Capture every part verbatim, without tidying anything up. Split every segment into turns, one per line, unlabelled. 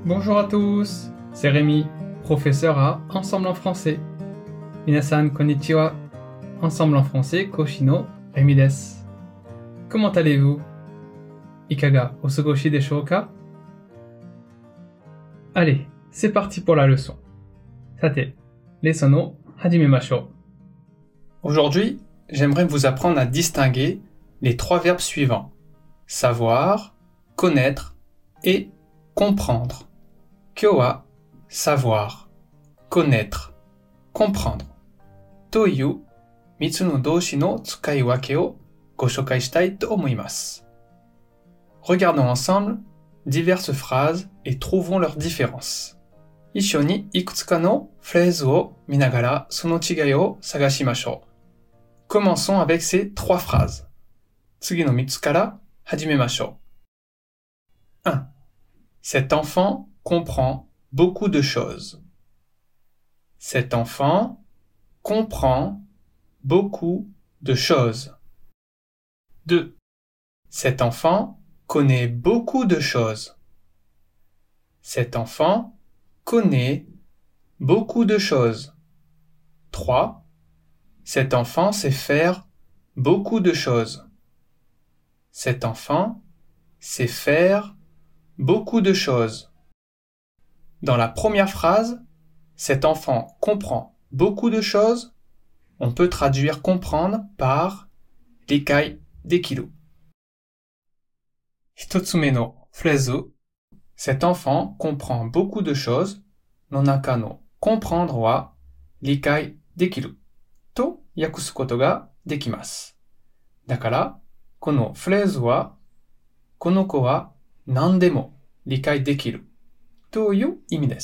Bonjour à tous, c'est Rémi, professeur à Ensemble en français. Minasan konnichiwa, Ensemble en français, Koshino Rémi desu. Comment allez-vous? Ikaga osugoshi desho ka? Allez, c'est parti pour la leçon. Sate, leçon o hajimemashou. Aujourd'hui, j'aimerais vous apprendre à distinguer les trois verbes suivants: savoir, connaître et comprendre. Kyou wa savoir, connaître, comprendre というみっつの動詞の使い分けをご紹介したいと思います。Regardons ensemble diverses phrases et trouvons leurs différences. 一緒にいくつかのフレーズを見ながらその違いを探しましょう。Commençons avec ces trois phrases. 次のみっつから始めましょう。un. Cet enfant comprend beaucoup de choses. Cet enfant comprend beaucoup de choses. deux. Cet enfant connaît beaucoup de choses. Cet enfant connaît beaucoup de choses. trois. Cet enfant sait faire beaucoup de choses. Cet enfant sait faire beaucoup de choses. Dans la première phrase, cet enfant comprend beaucoup de choses, on peut traduire comprendre par likai dekiru. Hitotsume no phrase, cet enfant comprend beaucoup de choses, no naka no comprendre wa likai dekiru to yakusu koto ga dekimasu. Dakara, kono phrase wa kono ko wa nandemo likai dekiru toいう意味です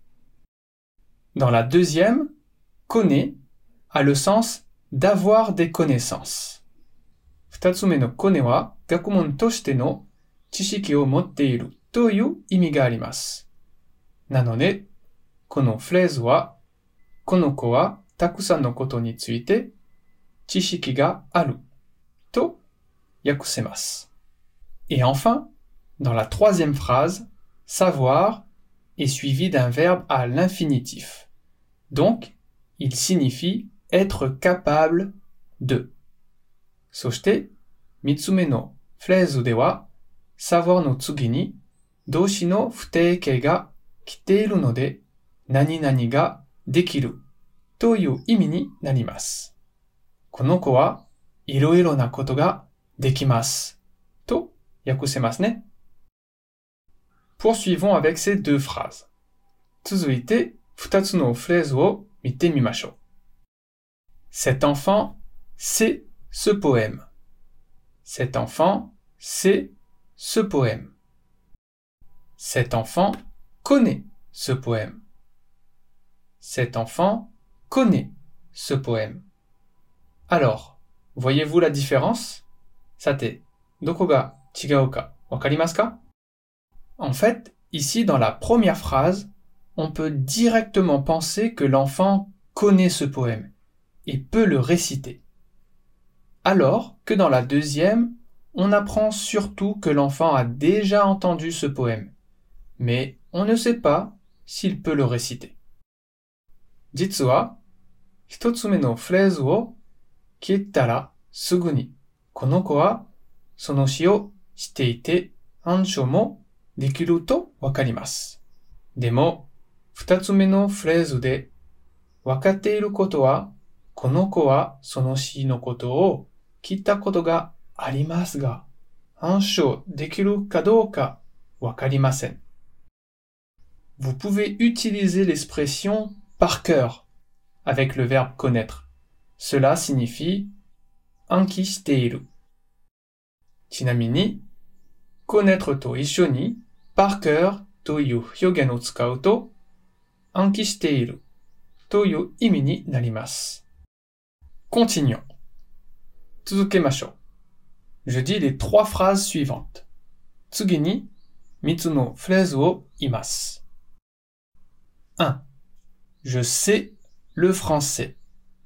。Dans la deuxième, connaît a le sens d'avoir des connaissances. 二つ目のconnaîtは学問としての知識を持っているという意味があります。なので、このフレーズは、この子はたくさんのことについて知識があると訳せます。Et enfin, dans la troisième phrase, savoir est suivi d'un verbe à l'infinitif. Donc, il signifie être capable de. そして、三つ目のフレーズでは、savoir の次に動詞の不定形が来ているので、何々ができるという意味になります。この子はいろいろなことができますと訳せますね。Poursuivons avec ces deux phrases. 続いて、二つのフレーズを見てみましょう。Cet enfant sait ce poème. Cet enfant sait ce poème. Cet enfant connaît ce poème. Cet enfant connaît ce poème. Alors, voyez-vous la différence? さて、どこが違うかわかりますか? En fait, ici dans la première phrase, on peut directement penser que l'enfant connaît ce poème et peut le réciter. Alors que dans la deuxième, on apprend surtout que l'enfant a déjà entendu ce poème, mais on ne sait pas s'il peut le réciter. 実は、一つ目のフレーズを切ったらすぐに、この子はその詩をしていて、暗唱もできるとわかります。でも、二つ目のフレーズで、わかっていることは、この子はその詩のことを聞いたことがありますが、暗唱できるかどうかわかりません。Vous pouvez utiliser l'expression par cœur avec le verbe connaître. Cela signifie 暗記している。ちなみに、connaître と一緒に par cœur という表現を使うと、暗記しているという意味になります。Continuons. 続けましょう。Je dis les trois phrases suivantes. 次に三つのフレーズを言います。un. Je sais le français.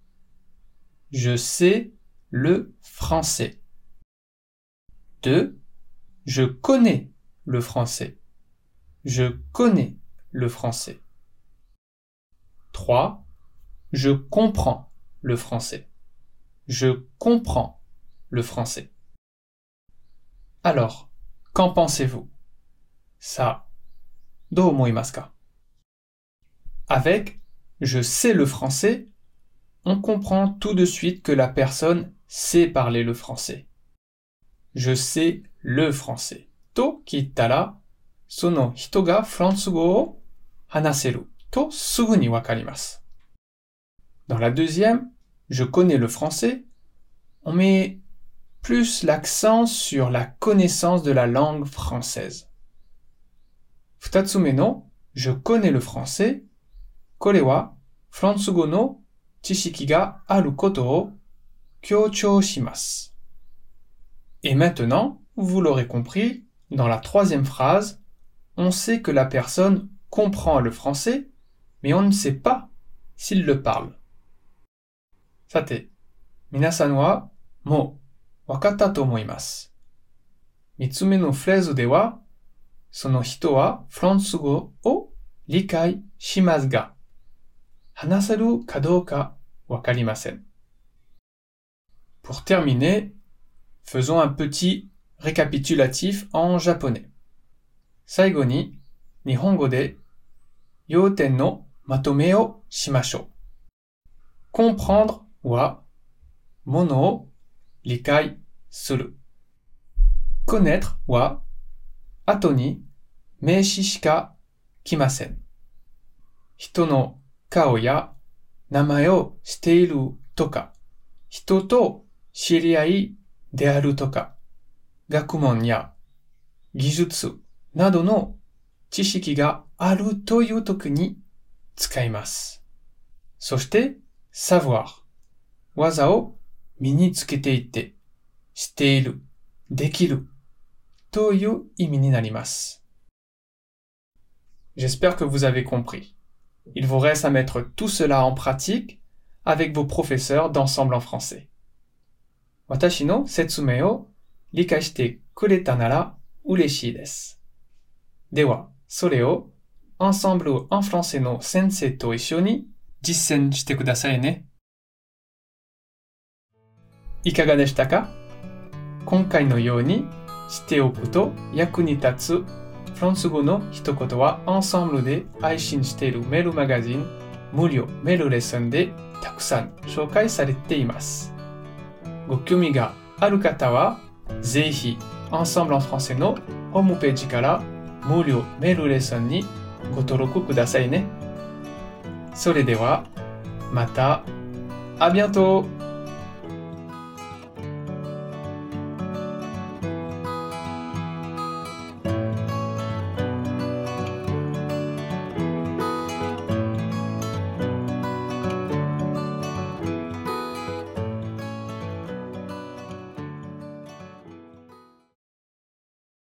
Je sais le français. deux. Je connais le français. Je connais le français. trois. Je comprends le français. Je comprends le français. Alors, qu'en pensez-vous? Ça, do omoimasu ka? Avec je sais le français, on comprend tout de suite que la personne sait parler le français. Je sais le français. To kitta ra, sono hito ga fransugo o hanaseru to sugu ni wakarimasu. Dans la deuxième, je connais le français, on met plus l'accent sur la connaissance de la langue française. Futatsume no, je connais le français, kore wa fransugo no chishiki ga aru koto o kyouchou shimasu. Et maintenant, vous l'aurez compris, dans la troisième phrase, on sait que la personne comprend le français, mais on ne sait pas s'il le parle. Sate, minasan wa mou wakatta to omoimasu. Mitsume no phrase de wa, sono hito wa fransugo o likai shimasu ga, hanaseru ka douka wakarimasen. Pour terminer, faisons un petit récapitulatif en japonais. Saigo ni, nihongo de, youten no matome o shimashou. Comprendre wa, mono o likai suru. Connaître wa, ato ni, meishi shika kimasen. Hito no kao ya, namae o shiteiru toka, hito to shiriai de aru toka, gakumon ya gijutsu nado no chishiki ga aru toyu toki ni tsukaimasu. Soshite, savoir. Waza o minitsukete itte, shiteiru, dekiru, toyu imi ni narimasu. J'espère que vous avez compris. Il vous reste à mettre tout cela en pratique avec vos professeurs d'ensemble en français. Watashi no setsume o likai shite kureta nara ureshii desu. Dewa, sore o ensemble en français no sensei to issho ni jisen shite kudasai ne. Ikaga deshita ka? Konkai no you ni shite oku to yaku ni tatsu フランス語の一言はアンサンブルで配信しているメールマガジン無料メールレッスンでたくさん紹介されています。ご興味がある方はぜひアンサンブルen françaisのホームページから無料メールレッスンにご登録くださいね。それではまた、à bientôt!